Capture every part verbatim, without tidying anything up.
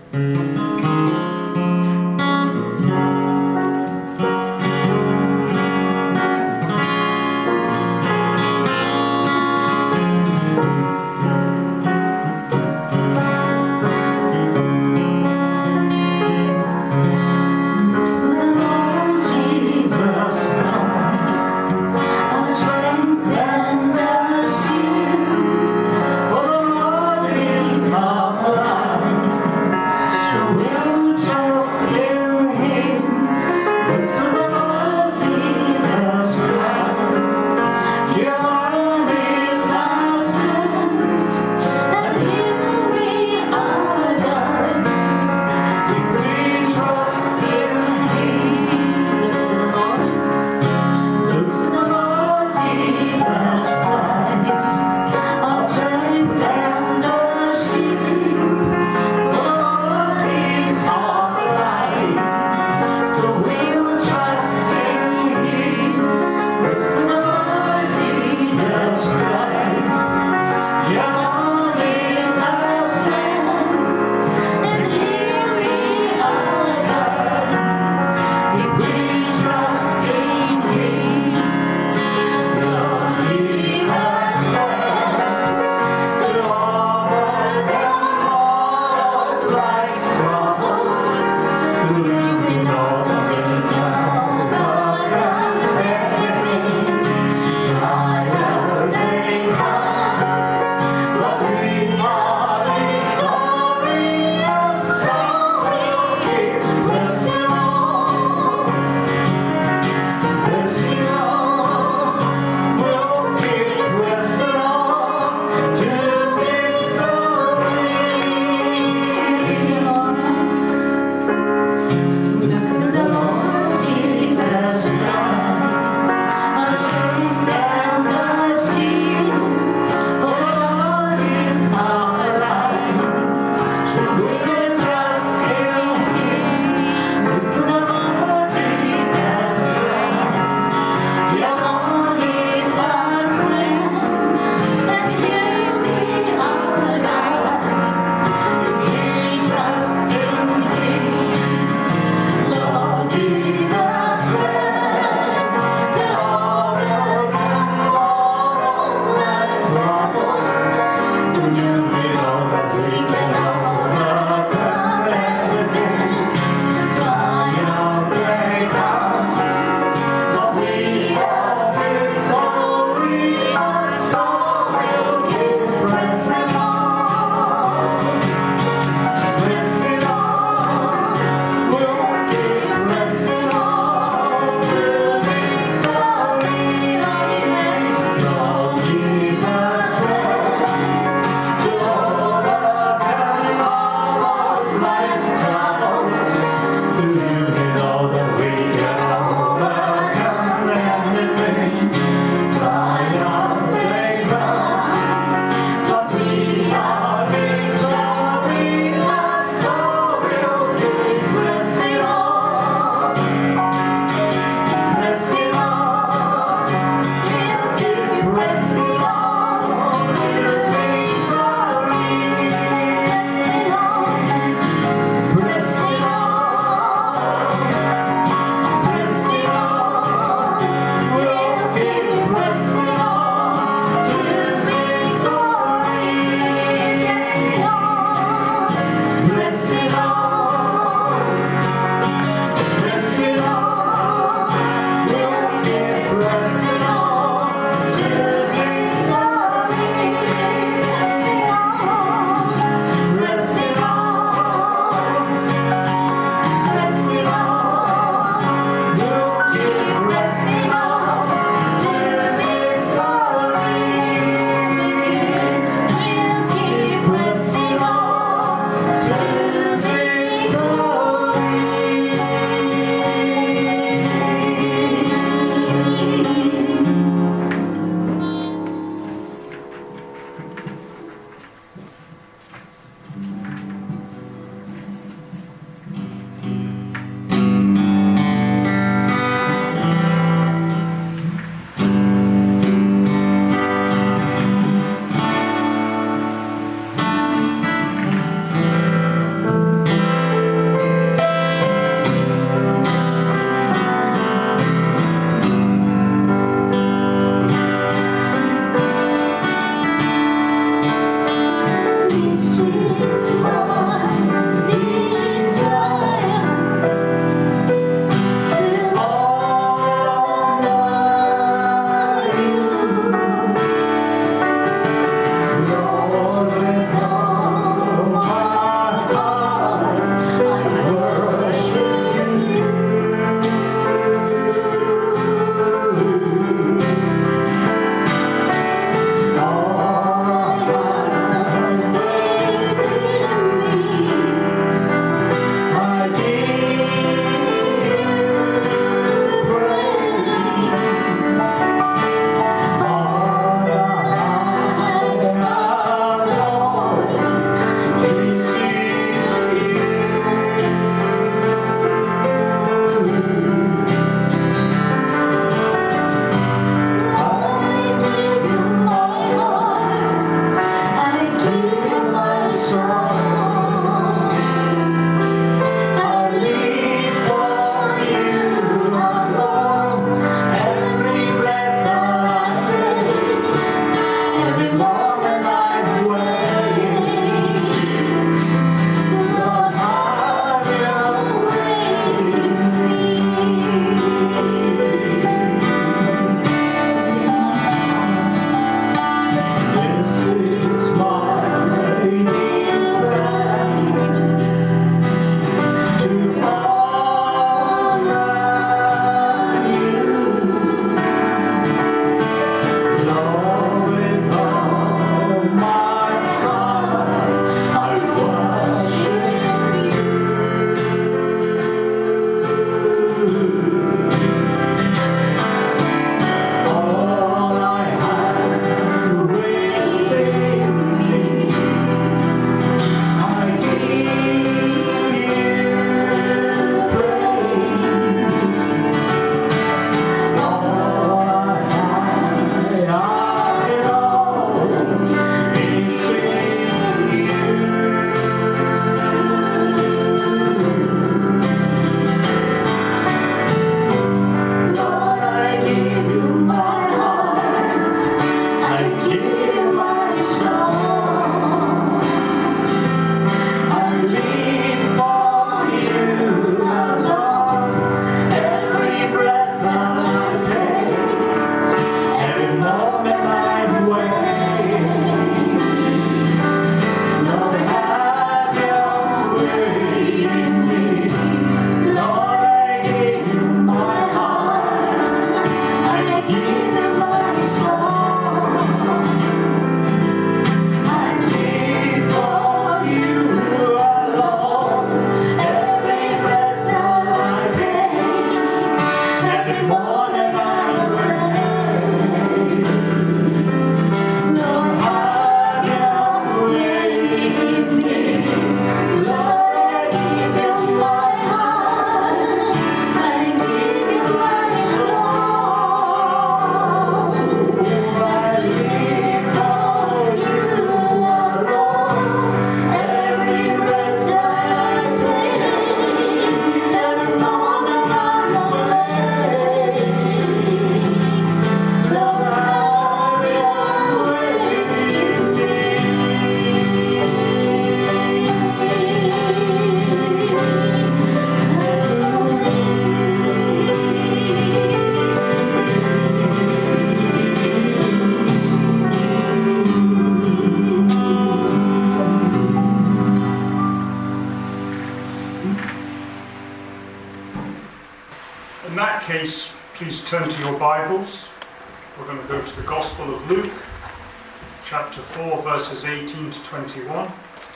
Show that case, please turn to your Bibles. We're going to go to the Gospel of Luke, chapter four, verses eighteen to twenty-one.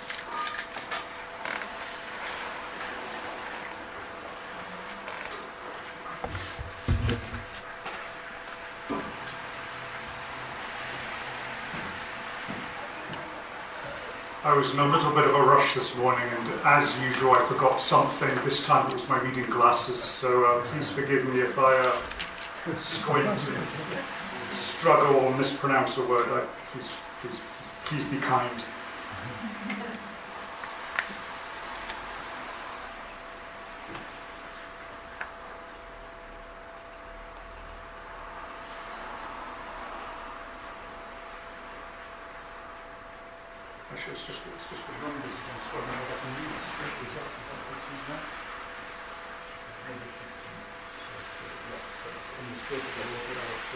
I was in a little bit of a rush this morning, and as usual I forgot something. This time it was my reading glasses, so uh, please forgive me if I uh, squint, struggle or mispronounce a word. I, please, please, please be kind. Actually, it's just, it's just the numbers against what I can read the scriptures up. Is that what's in there? In the scriptures, I work it out to...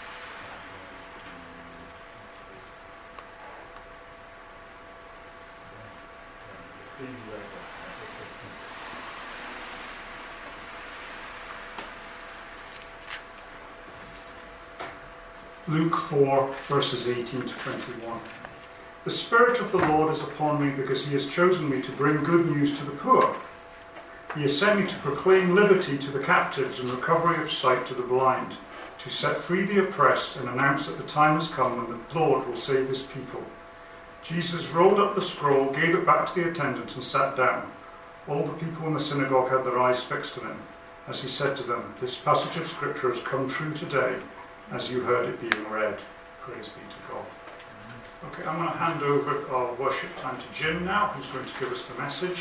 Luke four, verses eighteen to twenty-one. The Spirit of the Lord is upon me, because he has chosen me to bring good news to the poor. He has sent me to proclaim liberty to the captives and recovery of sight to the blind, to set free the oppressed and announce that the time has come when the Lord will save his people. Jesus rolled up the scroll, gave it back to the attendant and sat down. All the people in the synagogue had their eyes fixed on him, as he said to them, "This passage of Scripture has come true today, as you heard it being read." Praise be to God. Okay, I'm going to hand over our worship time to Jim now, who's going to give us the message.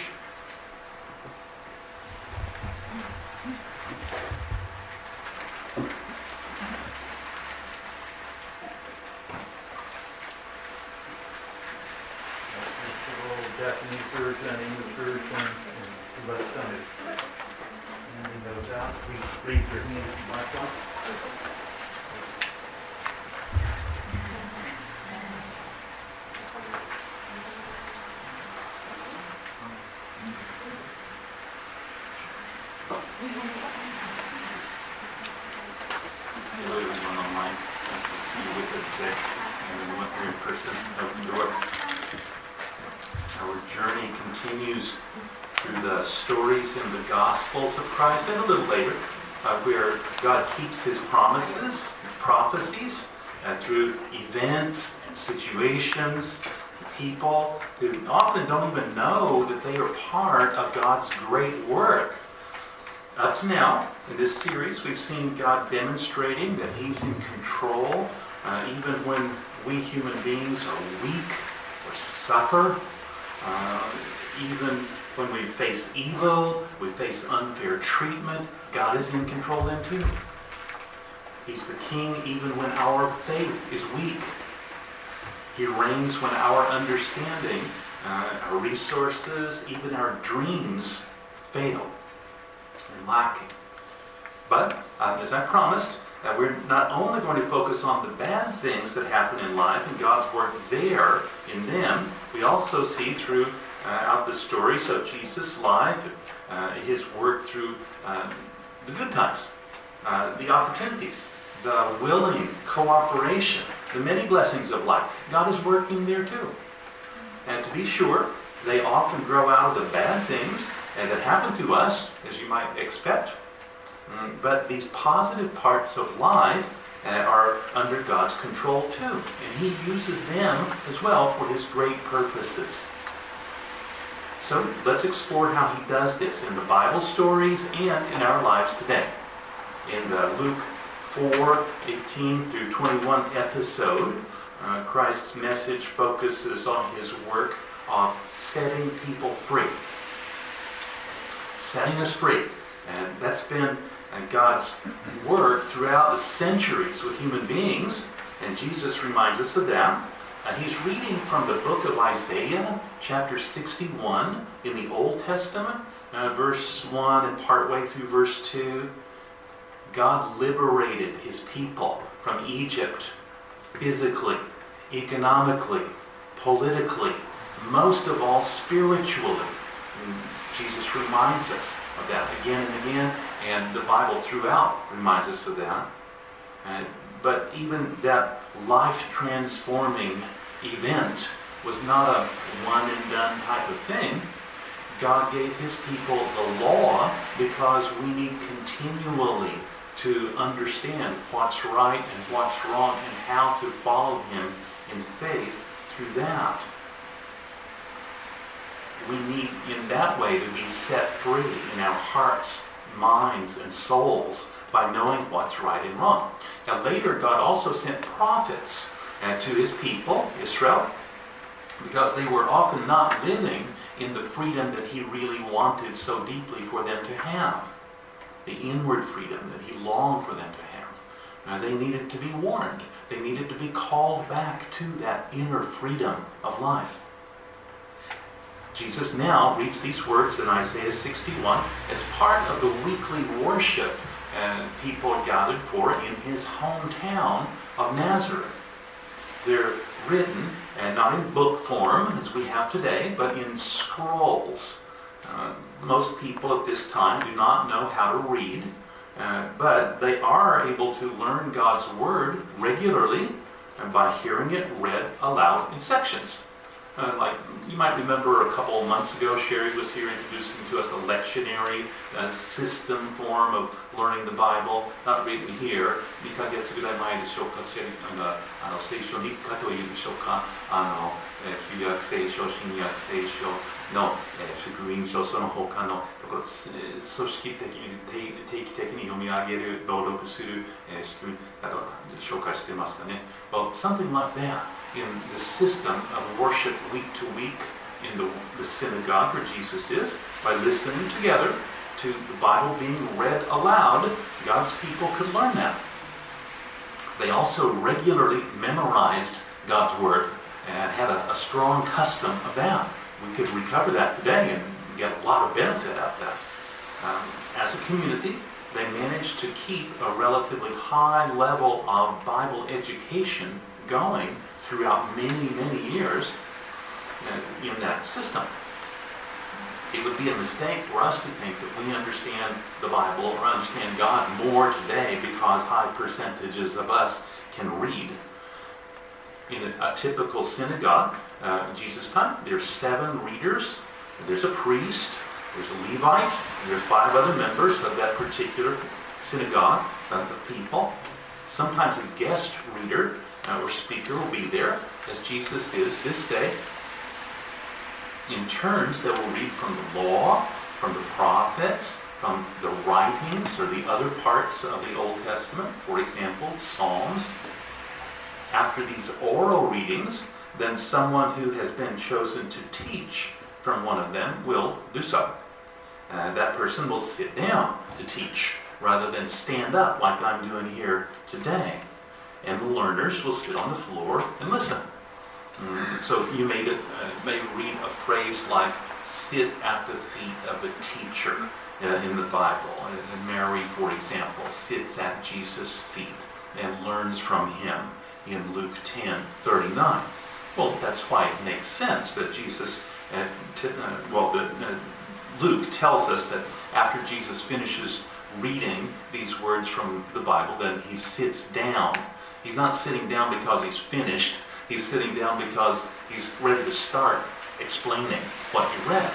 Japanese version, English version, and let us know. Handing those out. Please raise your hands to my one. Hello everyone online. Nice to see you with us today. And everyone here in person, open door. Our journey continues through the stories in the Gospels of Christ, and a little later, uh, where God keeps his promises, his prophecies, uh, through events and situations, people who often don't even know that they are part of God's great work. Up to now, in this series, we've seen God demonstrating that he's in control, uh, even when we human beings are weak or suffer. Uh, even when we face evil, we face unfair treatment, God is in control then too. He's the king even when our faith is weak. He reigns when our understanding, uh, our resources, even our dreams fail and lacking. But, uh, as I promised, uh, we're not only going to focus on the bad things that happen in life and God's work there in them, we also see through uh, out the stories of Jesus' life, uh, his work through uh, the good times, uh, the opportunities, the willing cooperation, the many blessings of life. God is working there too. And to be sure, they often grow out of the bad things and that happen to us, as you might expect. Mm, but these positive parts of life uh, are under God's control too. And he uses them as well for his great purposes. So let's explore how he does this in the Bible stories and in our lives today. In the Luke four, eighteen through twenty-one episode, uh, Christ's message focuses on his work of setting people free. Setting us free. And that's been God's work throughout the centuries with human beings, and Jesus reminds us of that. Uh, he's reading from the book of Isaiah, chapter sixty-one in the Old Testament, uh, verse one and partway through verse two. God liberated his people from Egypt physically, economically, politically, most of all spiritually. And Jesus verse reminds us of that again and again, and the Bible throughout reminds us of that. Uh, but even that life-transforming event was not a one-and-done type of thing. God gave his people the law because we need continually to understand what's right and what's wrong and how to follow him in faith through that. We need in that way to be set free in our hearts, minds, and souls by knowing what's right and wrong. Now later, God also sent prophets uh, to his people, Israel, because they were often not living in the freedom that he really wanted so deeply for them to have. The inward freedom that he longed for them to have. Uh, they needed to be warned. They needed to be called back to that inner freedom of life. Jesus now reads these words in Isaiah sixty-one as part of the weekly worship uh, people are gathered for in his hometown of Nazareth. They're written, and not in book form as we have today, but in scrolls. Uh, most people at this time do not know how to read, uh, but they are able to learn God's Word regularly and by hearing it read aloud in sections. Uh, like you might remember a couple of months ago, Sherry was here introducing to us a lectionary uh, system form of learning the Bible, not written here.にかげつぐらい前でしょうか、シェリーさんがあの聖書日課というでしょうか、あの、えー、旧約聖書、新約聖書の、えー、福音書、その他のところ、えー、組織的に定、定期的に読み上げる、朗読する、えー、仕組みなど紹介してますかね。Well, something like that in the system of worship week to week in the, the synagogue where Jesus is, by listening together to the Bible being read aloud, God's people could learn that. They also regularly memorized God's Word and had a, a strong custom of that. We could recover that today and get a lot of benefit out of that. Um, as a community, they managed to keep a relatively high level of Bible education going throughout many, many years uh, in that system. It would be a mistake for us to think that we understand the Bible or understand God more today because high percentages of us can read. In a, a typical synagogue, uh, in Jesus' time, there's seven readers, there's a priest, there's a Levite, and there's five other members of that particular synagogue, of the people. Sometimes a guest reader uh, or speaker will be there, as Jesus is this day. In turns, they will read from the law, from the prophets, from the writings or the other parts of the Old Testament, for example, Psalms. After these oral readings, then someone who has been chosen to teach from one of them will do so. Uh, that person will sit down to teach rather than stand up like I'm doing here today. And the learners will sit on the floor and listen. Mm, so you may, uh, may read a phrase like, sit at the feet of a teacher uh, in the Bible. And Mary, for example, sits at Jesus' feet and learns from him in Luke ten thirty-nine. Well, that's why it makes sense that Jesus, uh, t- uh, well, the, uh, Luke tells us that after Jesus finishes reading these words from the Bible, then he sits down. He's not sitting down because he's finished. He's sitting down because he's ready to start explaining what he read.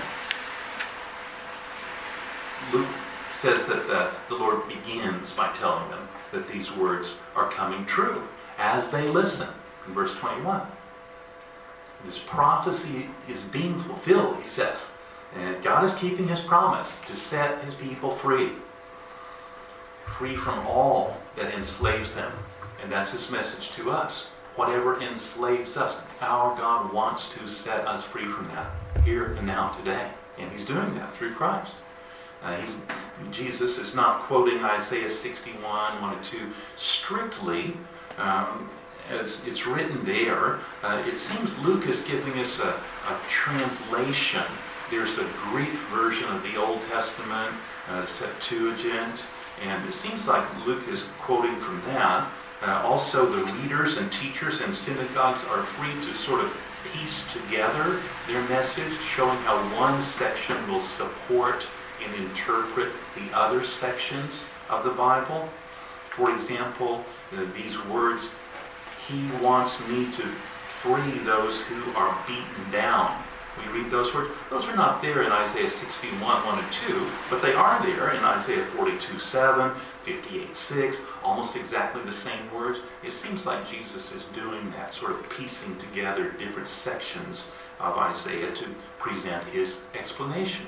Luke says that the, the Lord begins by telling them that these words are coming true as they listen. In verse twenty-one. This prophecy is being fulfilled, he says. And God is keeping his promise to set his people free. Free from all that enslaves them. And that's his message to us. Whatever enslaves us, our God wants to set us free from that here and now today. And he's doing that through Christ. Uh, he's, Jesus is not quoting Isaiah sixty-one, one and two strictly um, as it's written there. Uh, it seems Luke is giving us a, a translation. There's a Greek version of the Old Testament, uh, Septuagint, and it seems like Luke is quoting from that. Uh, also, the readers and teachers in synagogues are free to sort of piece together their message, showing how one section will support and interpret the other sections of the Bible. For example, uh, these words, he wants me to free those who are beaten down. We read those words. Those are not there in Isaiah sixty-one, one and two, but they are there in Isaiah forty-two, seven, fifty-eight, six, almost exactly the same words. It seems like Jesus is doing that, sort of piecing together different sections of Isaiah to present his explanation.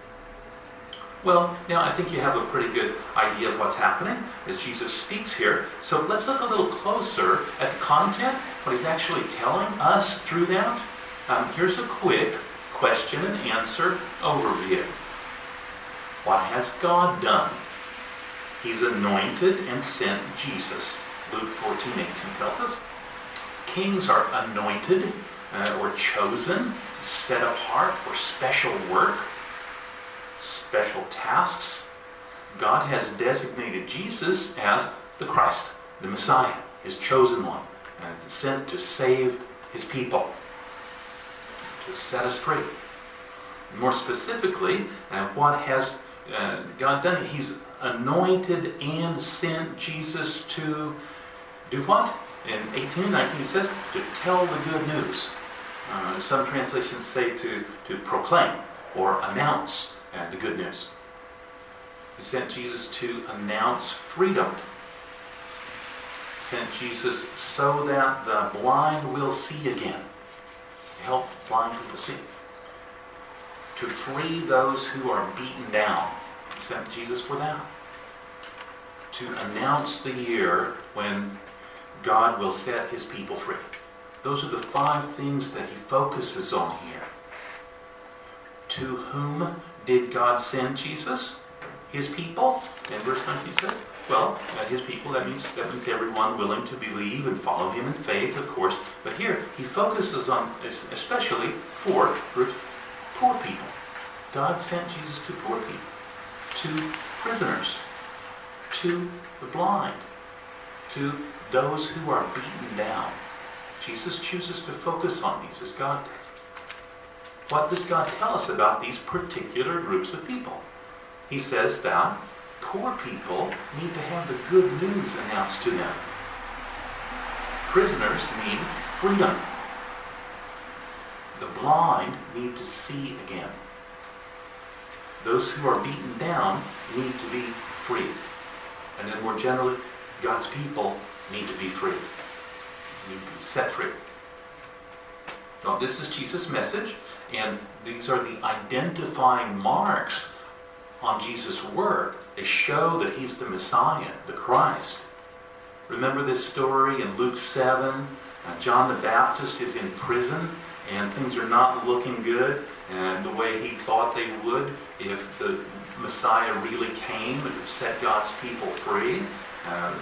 Well, now I think you have a pretty good idea of what's happening as Jesus speaks here. So let's look a little closer at the content, what he's actually telling us through that. Um, here's a quick question and answer overview. What has God done? He's anointed and sent Jesus. Luke fourteen, eighteen tells us. Kings are anointed uh, or chosen, set apart for special work, special tasks. God has designated Jesus as the Christ, the Messiah, his chosen one, and sent to save his people, to set us free. More specifically, uh, what has uh, God done? He's anointed and sent Jesus to do what? In eighteen and nineteen it says, to tell the good news. Uh, some translations say to, to proclaim or announce uh, the good news. He sent Jesus to announce freedom. He sent Jesus so that the blind will see again. To help blind people see. To free those who are beaten down. He sent Jesus for that. To announce the year when God will set his people free. Those are the five things that he focuses on here. To whom did God send Jesus? His people? And verse nineteen says, well, uh, his people, that means, that means everyone willing to believe and follow him in faith, of course. But here, he focuses on, especially for poor people. God sent Jesus to poor people, to prisoners, to the blind, to those who are beaten down. Jesus chooses to focus on these as God did. What does God tell us about these particular groups of people? He says that poor people need to have the good news announced to them. Prisoners need freedom. The blind need to see again. Those who are beaten down need to be free. And then more generally, God's people need to be free. Need to be set free. Now, this is Jesus' message, and these are the identifying marks on Jesus' work. They show that he's the Messiah, the Christ. Remember this story in Luke seven? Uh, John the Baptist is in prison, and things are not looking good, and the way he thought they would if the Messiah really came and set God's people free. Um,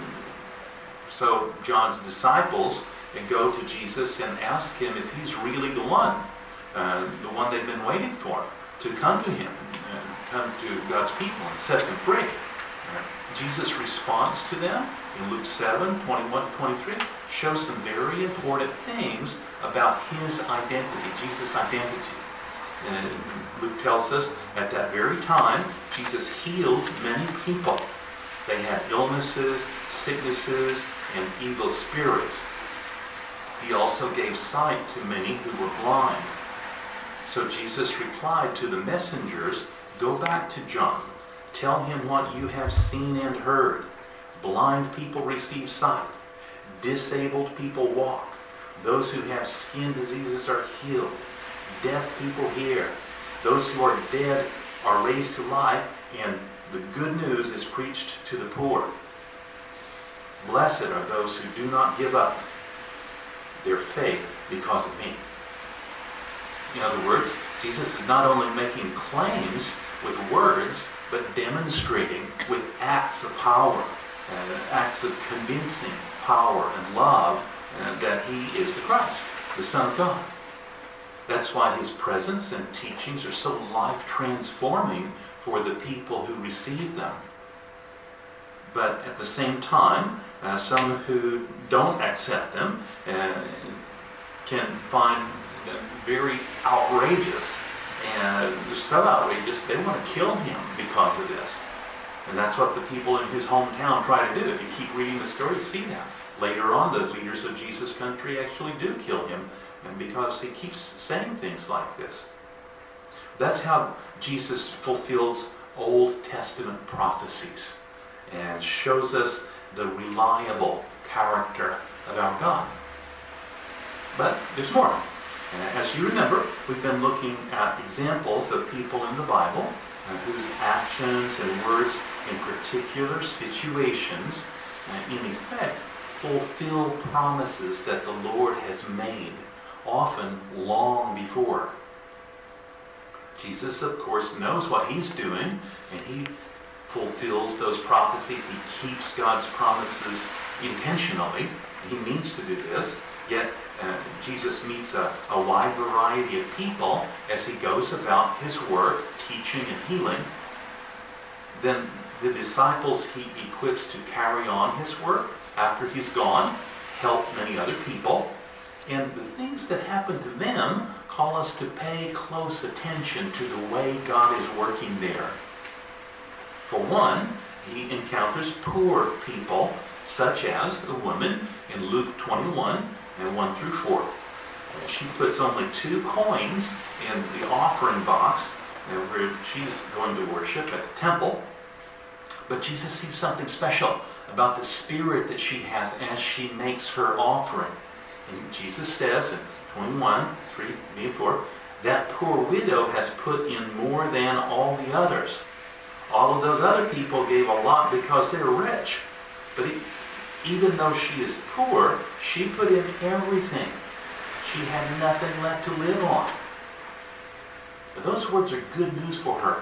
so John's disciples and go to Jesus and ask him if he's really the one, uh, the one they've been waiting for, to come to him and come to God's people and set them free. Uh, Jesus' response to them in Luke seven, twenty-one to twenty-three shows some very important things about his identity, Jesus' identity. And Luke tells us at that very time, Jesus healed many people. They had illnesses, sicknesses, and evil spirits. He also gave sight to many who were blind. So Jesus replied to the messengers, go back to John. Tell him what you have seen and heard. Blind people receive sight. Disabled people walk. Those who have skin diseases are healed. Deaf people hear. Those who are dead are raised to life, and the good news is preached to the poor. Blessed are those who do not give up their faith because of me. In other words, Jesus is not only making claims with words, but demonstrating with acts of power, uh, acts of convincing power and love uh, that he is the Christ, the Son of God. That's why his presence and teachings are so life-transforming for the people who receive them. But at the same time, uh, some who don't accept them uh, can find very outrageous. And so outrageous, they want to kill him because of this. And that's what the people in his hometown try to do. If you keep reading the story, you see that. Later on, the leaders of Jesus' country actually do kill him, and because he keeps saying things like this. That's how Jesus fulfills Old Testament prophecies and shows us the reliable character of our God. But there's more. And as you remember, we've been looking at examples of people in the Bible uh, whose actions and words in particular situations, uh, in effect, fulfill promises that the Lord has made, often long before. Jesus, of course, knows what he's doing, and he fulfills those prophecies. He keeps God's promises intentionally. He means to do this. Yet uh, Jesus meets a, a wide variety of people as he goes about his work, teaching and healing. Then the disciples he equips to carry on his work after he's gone, help many other people. And the things that happen to them call us to pay close attention to the way God is working there. For one, he encounters poor people, such as the woman in Luke twenty-one and one through four. And she puts only two coins in the offering box where she's going to worship at the temple. But Jesus sees something special about the spirit that she has as she makes her offering. And Jesus says in twenty-one, three and four, that poor widow has put in more than all the others. All of those other people gave a lot because they're rich. But he, even though she is poor, she put in everything. She had nothing left to live on. But those words are good news for her.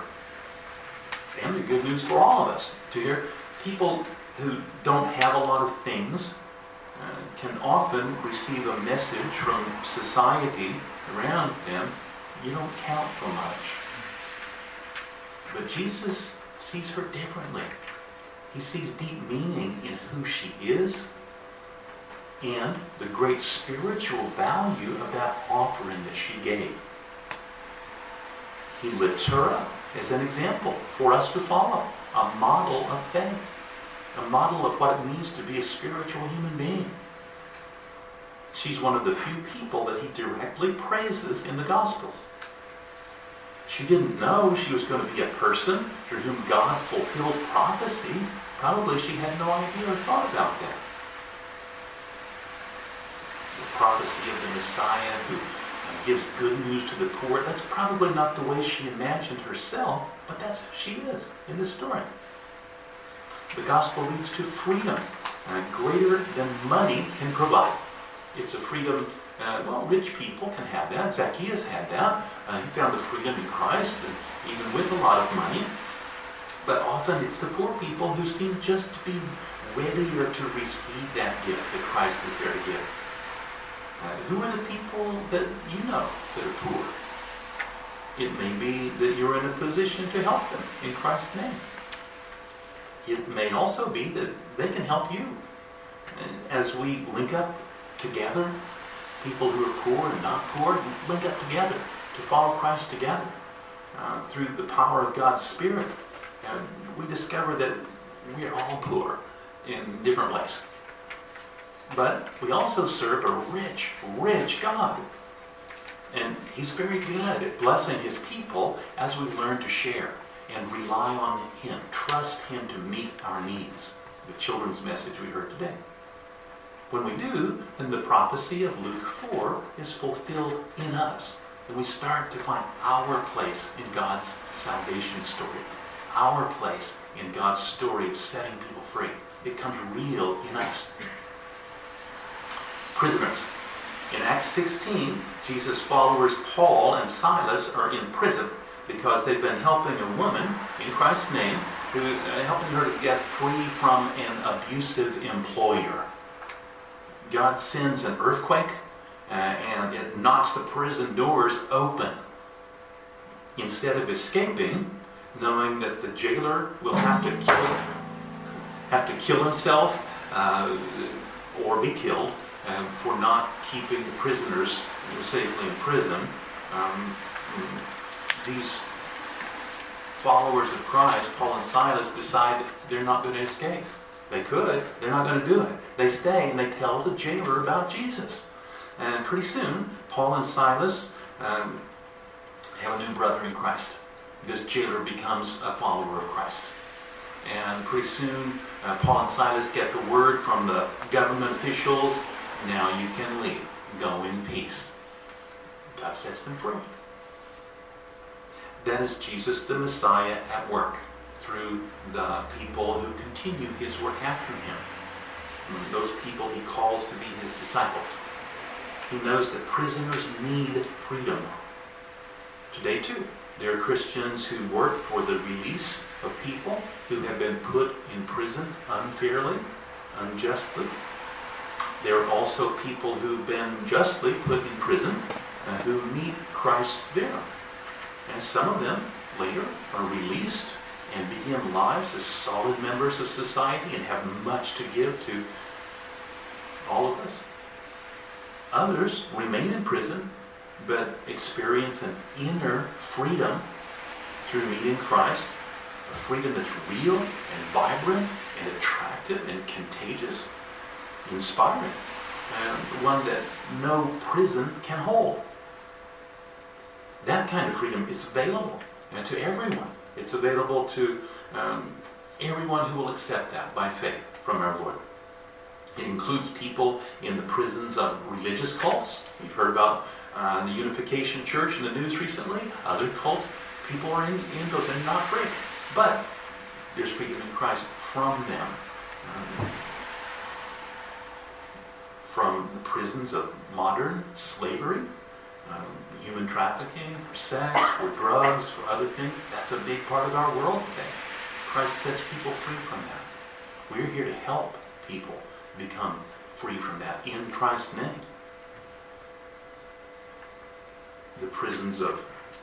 And they're good news for all of us to hear. People who don't have a lot of things uh, can often receive a message from society around them, you don't count for much. But Jesus sees her differently. He sees deep meaning in who she is and the great spiritual value of that offering that she gave. He lifts her up as an example for us to follow, a model of faith, a model of what it means to be a spiritual human being. She's one of the few people that he directly praises in the Gospels. She didn't know she was going to be a person through whom God fulfilled prophecy. Probably she had no idea or thought about that. The prophecy of the Messiah who gives good news to the poor, that's probably not the way she imagined herself, but that's who she is in this story. The gospel leads to freedom, uh, greater than money can provide. It's a freedom, uh, well, rich people can have that. Zacchaeus had that. Uh, he found the freedom in Christ, and even with a lot of money. But often it's the poor people who seem just to be readier to receive that gift that Christ is there to give. Uh, who are the people that you know that are poor? It may be that you're in a position to help them in Christ's name. It may also be that they can help you. And as we link up together, people who are poor and not poor, link up together to follow Christ together uh, through the power of God's Spirit. And we discover that we are all poor in different ways. But we also serve a rich, rich God. And He's very good at blessing His people as we learn to share and rely on Him, trust Him to meet our needs. The children's message we heard today. When we do, then the prophecy of Luke four is fulfilled in us. And we start to find our place in God's salvation story. Our place in God's story of setting people free. It comes real in us. Prisoners. In Acts sixteen, Jesus' followers Paul and Silas are in prison because they've been helping a woman in Christ's name, who uh, helping her to get free from an abusive employer. God sends an earthquake uh, and it knocks the prison doors open. Instead of escaping, knowing that the jailer will have to kill, have to kill himself uh, or be killed uh, for not keeping the prisoners safely in prison, um, these followers of Christ, Paul and Silas, decide they're not going to escape. They could. They're not going to do it. They stay and they tell the jailer about Jesus. And pretty soon, Paul and Silas um, have a new brother in Christ. This jailer becomes a follower of Christ. And pretty soon, uh, Paul and Silas get the word from the government officials, now you can leave. Go in peace. God sets them free. That is Jesus the Messiah at work through the people who continue his work after him. And those people he calls to be his disciples. He knows that prisoners need freedom. Today too, there are Christians who work for the release of people who have been put in prison unfairly, unjustly. There are also people who've been justly put in prison uh, who need Christ there. And some of them later are released and begin lives as solid members of society and have much to give to all of us. Others remain in prison but experience an inner freedom through meeting Christ, a freedom that's real and vibrant and attractive and contagious, inspiring, and one that no prison can hold. That kind of freedom is available uh, to everyone. It's available to um, everyone who will accept that by faith from our Lord. It includes people in the prisons of religious cults. We've heard about uh, the Unification Church in the news recently. Other cults, people are in, in those and not free. But there's freedom in Christ from them. Um, from the prisons of modern slavery, um, human trafficking, for sex, for drugs, for other things. That's a big part of our world today. Christ sets people free from that. We're here to help people become free from that in Christ's name. The prisons of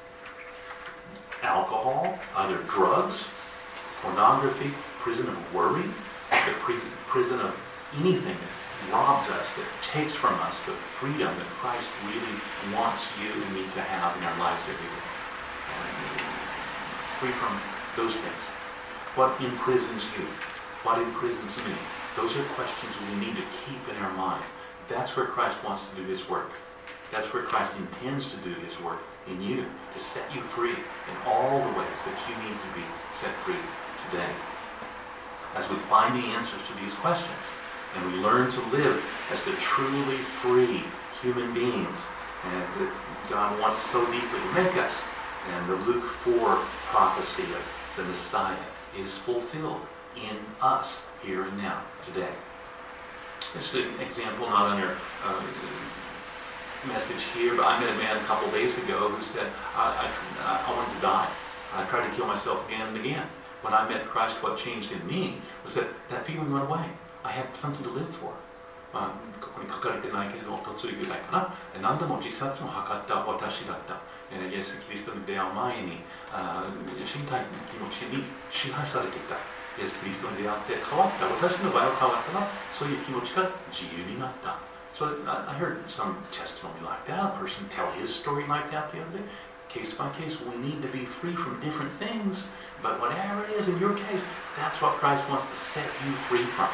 alcohol, other drugs, pornography, prison of worry, the prison, prison of anything that robs us, that takes from us the freedom that Christ really wants you and me to have in our lives every day. And free from those things. What imprisons you? What imprisons me? Those are questions we need to keep in our mind. That's where Christ wants to do his work. That's where Christ intends to do his work in you, to set you free in all the ways that you need to be set free today. As we find the answers to these questions, and we learn to live as the truly free human beings and that God wants so deeply to make us, and the Luke four prophecy of the Messiah is fulfilled in us here and now, today. Just an example, not on your uh, message here, but I met a man a couple days ago who said, I, I, I wanted to die. I tried to kill myself again and again. When I met Christ, what changed in me was that that feeling went away. I had something to live for. まあ、ここに書かれてないけれども、というぐらいかな。何度も自殺も図った私だった。イエス・キリストに出会う前に、あ身体の気持ちに支配されていた。イエス・キリストに出会って変わった。私の場合は変わったな。そういう気持ちが自由になった。So I heard some testimony like that. A person tell his story like that the other day. Case by case, we need to be free from different things. But whatever it is in your case, that's what Christ wants to set you free from.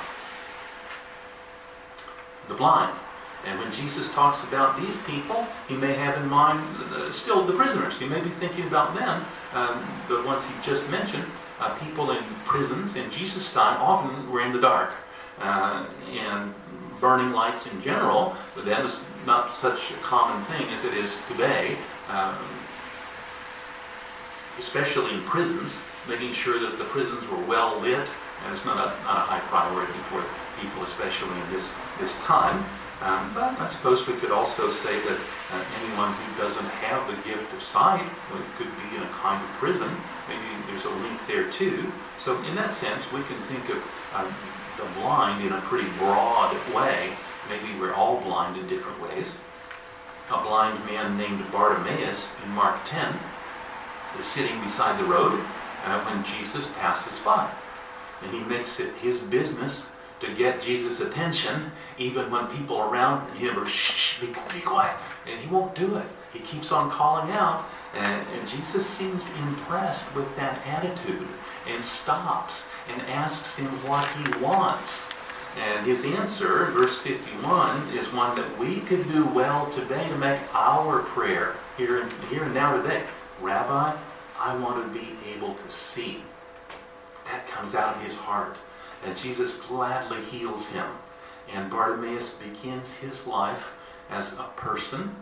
The blind. And when Jesus talks about these people, he may have in mind uh, still the prisoners. He may be thinking about them, um, the ones he just mentioned. Uh, people in prisons in Jesus' time often were in the dark. Uh, and burning lights in general, but that is not such a common thing as it is today. Um, especially in prisons, making sure that the prisons were well lit, and it's not a, not a high priority for people, especially in this, this time. Um, but I suppose we could also say that uh, anyone who doesn't have the gift of sight, well, it could be in a kind of prison. Maybe there's a link there too. So in that sense, we can think of um, the blind in a pretty broad way. Maybe we're all blind in different ways. A blind man named Bartimaeus in Mark ten is sitting beside the road uh, when Jesus passes by. And he makes it his business to to get Jesus' attention, even when people around him are, shh, be, be quiet. And he won't do it. He keeps on calling out. And, and Jesus seems impressed with that attitude and stops and asks him what he wants. And his answer, verse fifty-one, is one that we could do well today to make our prayer here and, here and now today. Rabbi, I want to be able to see. That comes out of his heart. And Jesus gladly heals him. And Bartimaeus begins his life as a person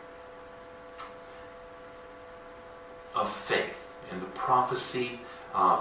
of faith. And the prophecy of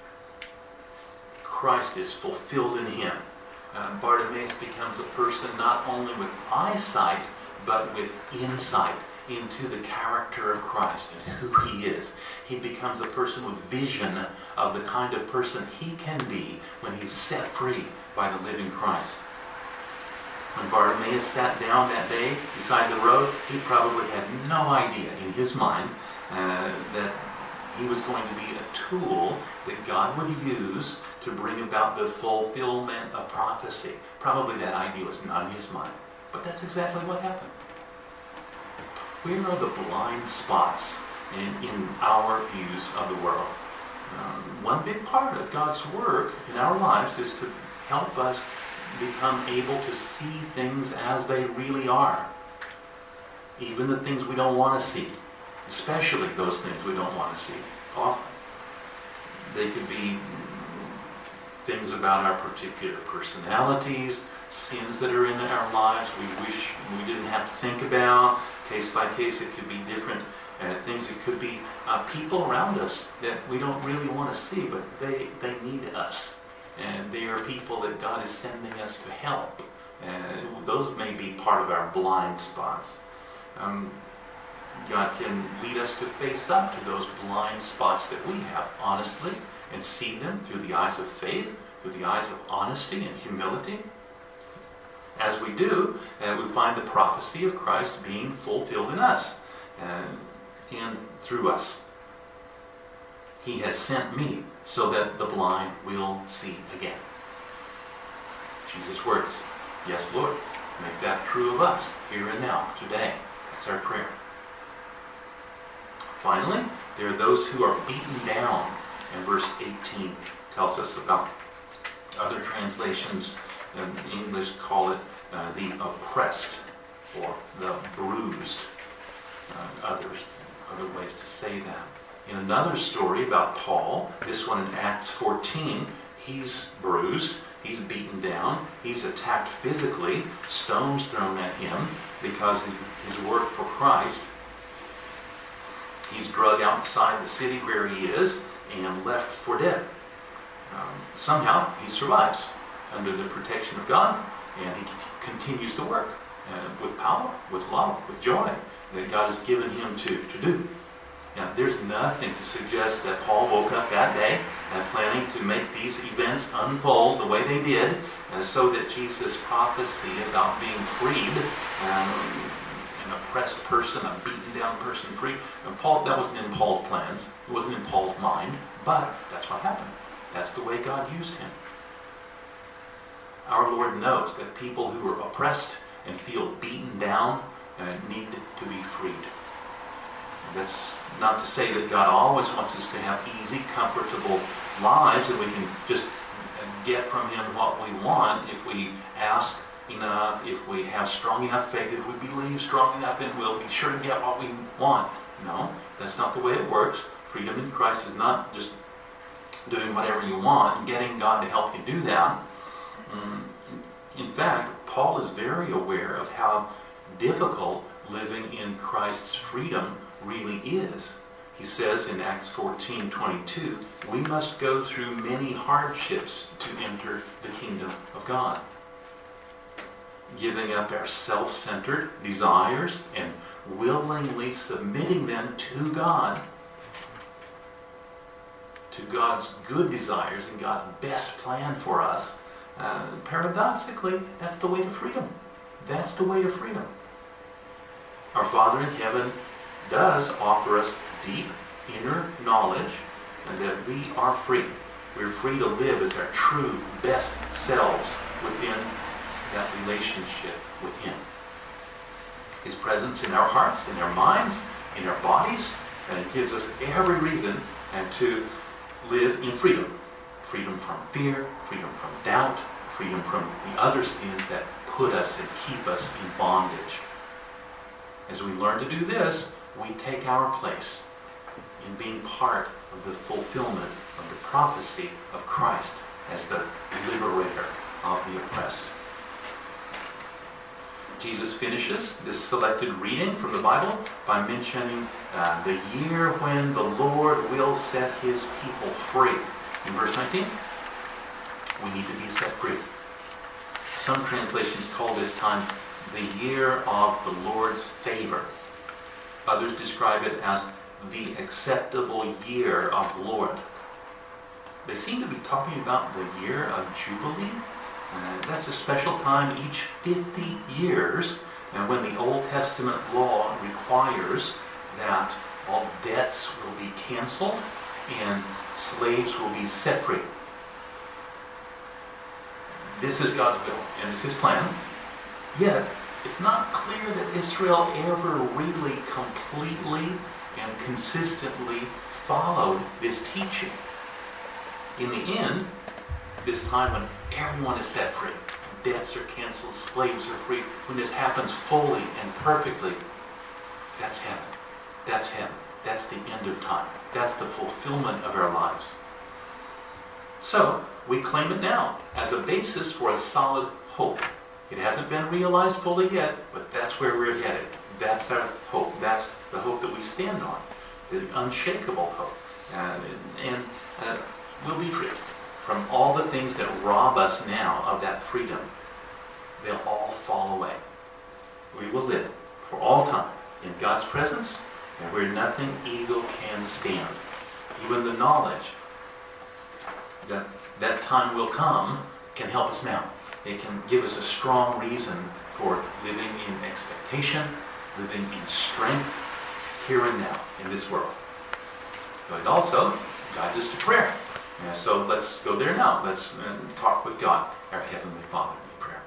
Christ is fulfilled in him. Uh, Bartimaeus becomes a person not only with eyesight, but with insight into the character of Christ and who he is. He becomes a person with vision of the kind of person he can be when he's set free by the living Christ. When Bartimaeus sat down that day beside the road, he probably had no idea in his mind uh, that he was going to be a tool that God would use to bring about the fulfillment of prophecy. Probably that idea was not in his mind. But that's exactly what happened. We know the blind spots in, in our views of the world. Um, one big part of God's work in our lives is to help us become able to see things as they really are. Even the things we don't want to see. Especially those things we don't want to see. Often. They could be things about our particular personalities, sins that are in our lives we wish we didn't have to think about. Case by case, it could be different uh, things. It could be uh, people around us that we don't really want to see, but they, they need us. And they are people that God is sending us to help. And those may be part of our blind spots. Um, God can lead us to face up to those blind spots that we have, honestly, and see them through the eyes of faith, through the eyes of honesty and humility. As we do, uh, we find the prophecy of Christ being fulfilled in us uh, and through us. He has sent me so that the blind will see again. Jesus' words. Yes, Lord. Make that true of us here and now, today. That's our prayer. Finally, there are those who are beaten down. And verse eighteen tells us about other translations in English call it uh, the oppressed or the bruised. Uh, others, other ways to say that. In another story about Paul, this one in Acts fourteen, he's bruised, he's beaten down, he's attacked physically, stones thrown at him because of his work for Christ. He's dragged outside the city where he is and left for dead. Um, somehow he survives under the protection of God, and he continues to work uh, with power, with love, with joy that God has given him to, to do. Now, there's nothing to suggest that Paul woke up that day and planning to make these events unfold the way they did, uh, so that Jesus' prophecy about being freed, um, an oppressed person, a beaten down person free, and Paul, that wasn't in Paul's plans, it wasn't in Paul's mind, but that's what happened. That's the way God used him. Our Lord knows that people who are oppressed and feel beaten down uh, need to be freed. That's not to say that God always wants us to have easy, comfortable lives and we can just get from Him what we want if we ask enough, if we have strong enough faith, if we believe strong enough, then we'll be sure to get what we want. No, that's not the way it works. Freedom in Christ is not just doing whatever you want and getting God to help you do that. In fact, Paul is very aware of how difficult living in Christ's freedom really is. He says in Acts fourteen twenty-two, we must go through many hardships to enter the kingdom of God. Giving up our self-centered desires and willingly submitting them to God, to God's good desires and God's best plan for us. Uh, paradoxically, that's the way to freedom. That's the way to freedom. Our Father in heaven does offer us deep inner knowledge and that we are free. We're free to live as our true best selves within that relationship with Him. His presence in our hearts, in our minds, in our bodies, and it gives us every reason and to live in freedom. Freedom from fear, freedom from doubt, freedom from the other sins that put us and keep us in bondage. As we learn to do this, we take our place in being part of the fulfillment of the prophecy of Christ as the liberator of the oppressed. Jesus finishes this selected reading from the Bible by mentioning uh, the year when the Lord will set His people free. In verse nineteen, we need to be set free. Some translations call this time the year of the Lord's favor. Others describe it as the acceptable year of the Lord. They seem to be talking about the year of Jubilee. Uh, that's a special time each fifty years, and when the Old Testament law requires that all debts will be canceled and slaves will be set free. This is God's will, and it's His plan. Yet, it's not clear that Israel ever really completely and consistently followed this teaching. In the end, this time when everyone is set free, debts are canceled, slaves are free, when this happens fully and perfectly, that's heaven. That's heaven. That's the end of time. That's the fulfillment of our lives. So, we claim it now as a basis for a solid hope. It hasn't been realized fully yet, but that's where we're headed. That's our hope. That's the hope that we stand on. The unshakable hope. And, and uh, we'll be free from all the things that rob us now of that freedom. They'll all fall away. We will live for all time in God's presence and where nothing evil can stand. Even the knowledge that that time will come can help us now. It can give us a strong reason for living in expectation, living in strength, here and now, in this world. But it also guides us to prayer. And so let's go there now. Let's uh, talk with God, our Heavenly Father, in prayer.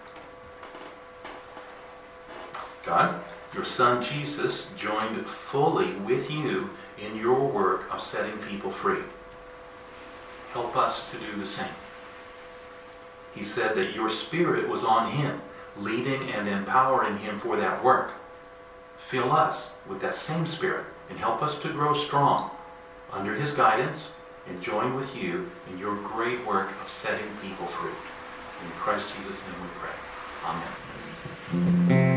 God, your Son Jesus joined fully with you in your work of setting people free. Help us to do the same. He said that your Spirit was on Him, leading and empowering Him for that work. Fill us with that same Spirit and help us to grow strong under His guidance and join with you in your great work of setting people free. In Christ Jesus' name we pray. Amen.